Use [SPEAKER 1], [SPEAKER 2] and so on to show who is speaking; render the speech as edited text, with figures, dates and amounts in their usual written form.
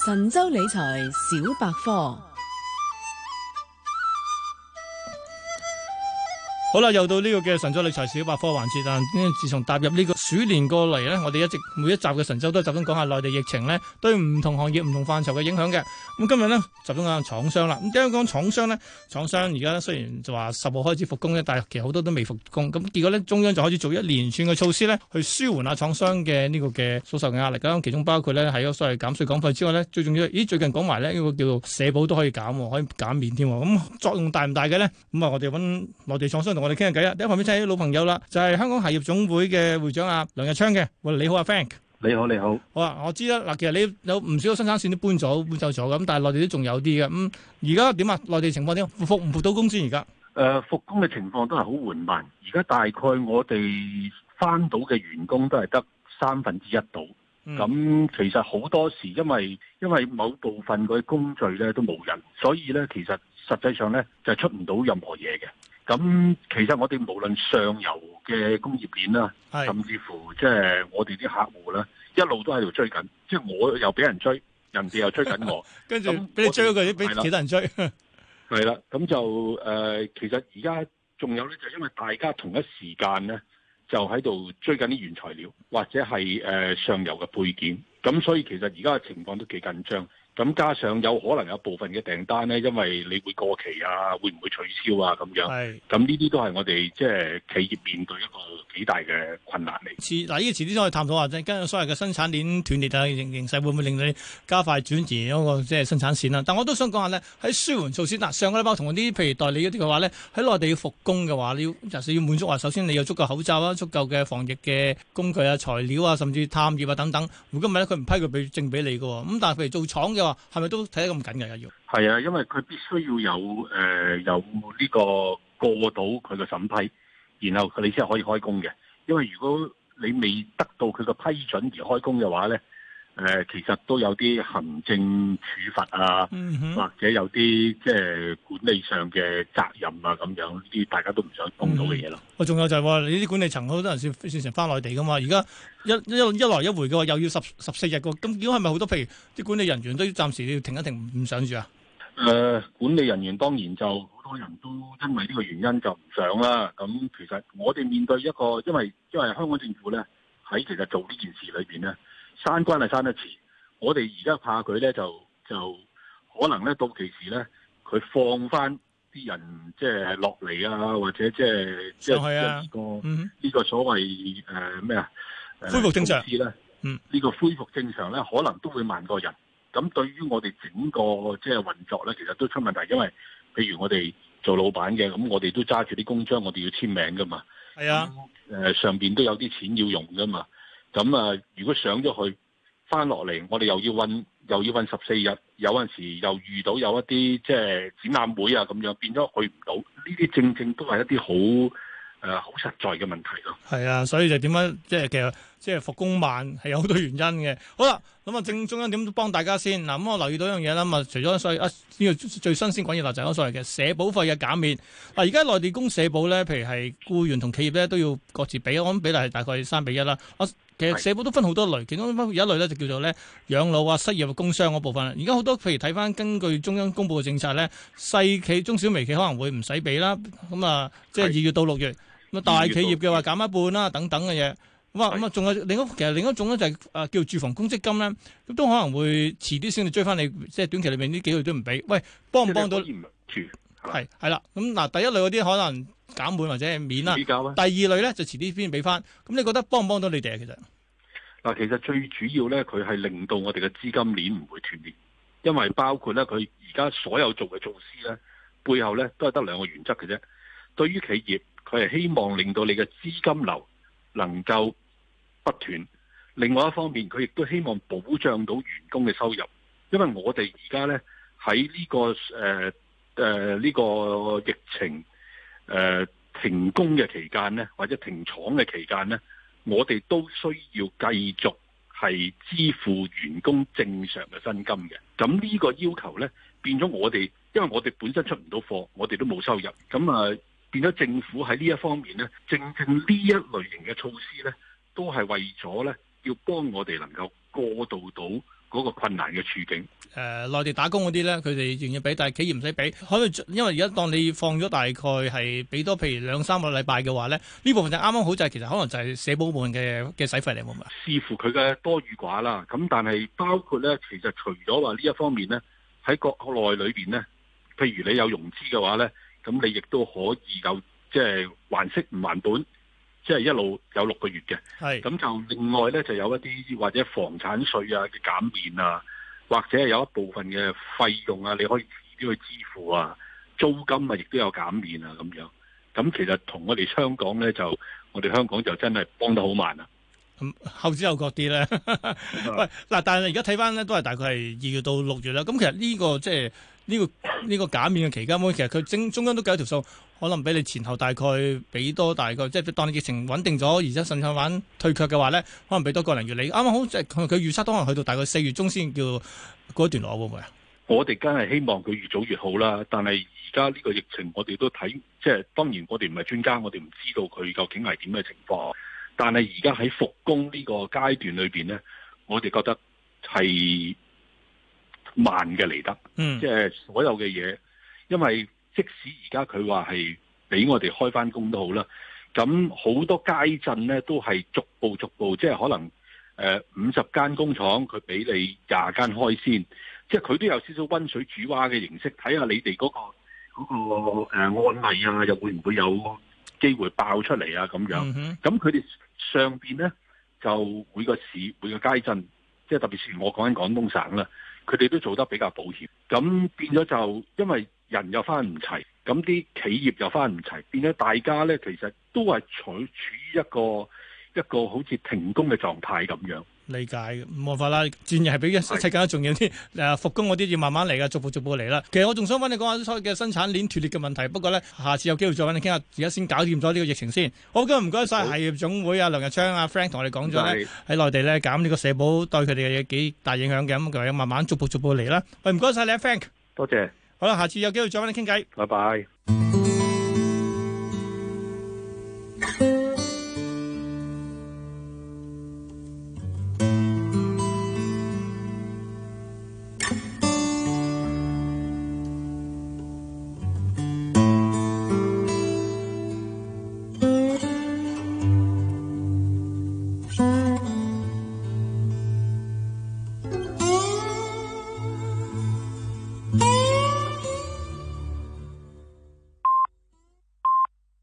[SPEAKER 1] 神州理財小百科。
[SPEAKER 2] 好啦，又到呢個嘅神州理財小百科環節，但自從踏入呢個鼠年過嚟呢，我哋一直每一集嘅神州都係集中講下內地疫情呢對唔同行業、唔同範疇嘅影響嘅。咁今日呢，集中講下廠商啦。咁點解講廠商呢？廠商而家雖然就話10號開始復工呢，但係其實好多都未復工。咁結果呢，中央就開始做一連串嘅措施呢，去舒緩下廠商嘅呢個嘅所受嘅壓力啦。其中包括呢，喺所謂減稅減費之外呢，最重要，最近講埋呢個叫做社保都可以減，可以減免添。咁作用大唔大嘅呢？咁啊，我哋揾內地廠商同我哋傾下偈啊！第一旁邊請啲老朋友啦，就係香港鞋業總會嘅會長阿梁日昌嘅。喂，你好啊 Frank。
[SPEAKER 3] 你好，你好。
[SPEAKER 2] 好啊，我知啦。嗱，其實你有唔少嘅生產線都搬走咗咁，但係內地都仲有啲嘅。咁而家點啊？內地情況點？復唔復到工先而家？
[SPEAKER 3] 復工嘅情況都係好緩慢。而家大概我哋翻到嘅員工都係得1/3度。咁其實好多時因為某部分嗰啲工序咧都冇人，所以咧其實實際上咧就係出唔到任何嘢嘅。咁其實我哋無論上游嘅工業鏈啦，甚至乎即係我哋啲客戶啦，一路都喺度追緊，即係我又俾人追，人哋又追緊我，
[SPEAKER 2] 跟住俾你追嗰個，俾其他人追。
[SPEAKER 3] 係啦，咁就其實而家仲有咧，就因為大家同一時間咧，就喺度追緊啲原材料或者係上游嘅配件，咁所以其實而家嘅情況都幾緊張。咁加上有可能有部分嘅訂單咧，因為你會過期啊，會唔會取消啊咁樣？咁呢啲都係我哋即係企業面對一個幾大嘅困難嚟。
[SPEAKER 2] 嗱，呢個遲啲先可以探討下啫。跟住所謂嘅生產鏈斷裂啊，形勢會唔會令你加快轉移嗰個即係生產線啦？但我都想講下咧，喺舒緩措施嗱，上個禮拜同啲譬如代理嗰啲嘅話咧，喺內地要復工嘅話，你要滿足話，首先你有足夠口罩啦，足夠嘅防疫嘅工具啊、材料啊，甚至探葉啊等等。如果唔係咧，佢唔批佢證俾你嘅喎。咁但係譬如做廠嘅話，係咪都睇得咁緊嘅要？
[SPEAKER 3] 係啊，因為佢必須要有呢個過到佢嘅審批，然後你先係可以開工嘅。因為如果你未得到佢嘅批准而開工嘅話咧，其實都有啲行政處罰啊，或者有啲即係管理上嘅責任啊咁樣，呢啲大家都唔想碰到嘅嘢咯。
[SPEAKER 2] 仲有就係話你啲管理層好多人先成翻內地噶嘛，而家一來一回嘅話又要14日嘅，咁結果係咪好多譬如啲管理人員都暫時要停一停唔上住啊？
[SPEAKER 3] 管理人員當然就好多人都因為呢個原因就唔上啦。咁其實我哋面對一個，因為香港政府咧喺其實做呢件事裏邊咧，閂關係閂得遲。我哋而家怕佢咧就可能咧到期時咧佢放翻啲人即係落嚟啊，或者即係呢個所謂咩啊
[SPEAKER 2] 恢復正常
[SPEAKER 3] 咧，呢個恢復正常咧可能都會慢過人。咁對於我哋整個即係運作咧，其實都出問題，因為譬如我哋做老闆嘅，咁我哋都揸住啲公章，我哋要簽名噶嘛。係啊，上邊都有啲錢要用噶嘛。咁啊，如果上咗去翻落嚟，我哋又要運14日，有陣時又遇到有一啲即係展覽會啊咁樣，變咗去唔到。呢啲正都係一啲好實在嘅問題咯。係
[SPEAKER 2] 啊，所以就點樣其實即係復工慢係有好多原因嘅。好啦，咁啊正中央點幫大家先嗱？咁我留意到一樣嘢啦，咁啊除咗所謂呢個最新鮮滾熱辣就係所謂嘅社保費嘅減免。嗱，而家內地供社保咧，譬如係僱員同企業咧都要各自俾，我諗比例係大概3:1啦。其實社保都分好多類，其中有一類咧就叫做咧養老啊、失業、工傷嗰部分。而家好多譬如睇翻根據中央公布嘅政策咧，細企、中小微企可能會唔使俾啦。咁啊，即係2月到6月。咁大企業嘅話減一半啦，等等嘅嘢。咁啊，仲有另一種咧就係叫住房公積金咧，咁都可能會遲啲先至追翻你，即係短期裏面呢幾個月都唔俾。喂，幫唔幫到？係啦。咁嗱，第一類嗰啲可能減半或者係免啦。第二類咧就遲啲先俾翻。咁你覺得幫唔幫到你哋啊？其實
[SPEAKER 3] 嗱，其實最主要咧，佢係令到我哋嘅資金鏈唔會斷裂，因為包括咧佢而家所有做嘅措施咧，背後咧都係得2個原則嘅啫。對於企業，佢係希望令到你嘅資金流能夠不斷，另外一方面佢亦都希望保障到員工嘅收入，因為我哋而家咧喺呢個疫情停工嘅期間咧，或者停廠嘅期間咧，我哋都需要繼續係支付員工正常嘅薪金嘅。咁呢個要求咧變咗我哋，因為我哋本身出唔到貨，我哋都冇收入，咁啊變咗政府喺呢一方面咧，正呢一類型嘅措施咧，都係為咗咧要幫我哋能夠過渡到嗰個困難嘅處境。
[SPEAKER 2] 內地打工嗰啲咧，佢哋願意俾，但係企業唔使俾。可以因為而家當你放咗大概係俾多，譬如2-3個禮拜嘅話咧，呢部分就啱啱好就係其實可能就係社保部分嘅使費嚟，冇咪？
[SPEAKER 3] 視乎佢嘅多與寡啦。咁但係包括咧，其實除咗話呢一方面咧，喺國內裏邊咧，譬如你有融資嘅話咧，咁你亦都可以有即係還息唔還本，即係一路有6個月嘅。係咁就另外咧就有一啲或者房產稅啊嘅減免啊。或者係有一部分嘅費用啊，你可以遲啲去支付啊，租金啊亦都有減免啊咁樣。咁其實同我哋香港咧我哋香港就真係幫得好慢啊。
[SPEAKER 2] 後知後覺啲咧。喂，嗱，但係而家睇翻咧，都係大概係2月到6月啦。咁其實呢個即係呢個減免嘅期間，其實佢中央都計咗條數，可能俾你前後大概俾多大概，即係當你疫情穩定咗，而且甚至玩退卻嘅話咧，可能俾多個零月你。啱啱好即係佢預測都可能去到大概4月中先叫嗰一段落，會唔會啊？我哋梗係希望佢越早越好啦。但係而家呢個疫情，我哋都睇，即係當然我哋唔係專家，我哋唔知道佢究竟係點嘅情況。但係而家喺復工呢個階段裏邊咧，我哋覺得係慢嘅嚟得，即係所有嘅嘢，因為即使而家佢話係俾我哋開翻工都好啦，咁好多街鎮咧都係逐步，即係可能50間工廠佢俾你20間開先，即係佢都有少少溫水煮蛙嘅形式，睇下你哋嗰個案例啊，又會唔會有機會爆出嚟啊咁樣。咁佢哋上邊咧就每個市每個街鎮，即係特別是我講緊廣東省啦。佢哋都做得比較保險，咁變咗就因為人又翻唔齊，咁啲企業又翻唔齊，變咗大家咧其實都係處於一個好似停工嘅狀態咁樣。理解嘅，冇辦法啦，戰役係比一切更加重要啲。復工嗰啲要慢慢嚟噶，逐步嚟啦。其實我仲想揾你講下所謂嘅生產鏈斷裂嘅問題，不過咧下次有機會再揾你傾下。而家先搞掂咗呢個疫情先。好，今日唔該晒係業總會啊梁日昌啊 Frank 同我哋講咗咧喺內地咧減呢個社保對佢哋嘅幾大影響嘅，咁佢慢慢逐步嚟啦。喂，唔該晒你啊 Frank，多謝。好啦，下次有機會再揾你傾偈。拜拜。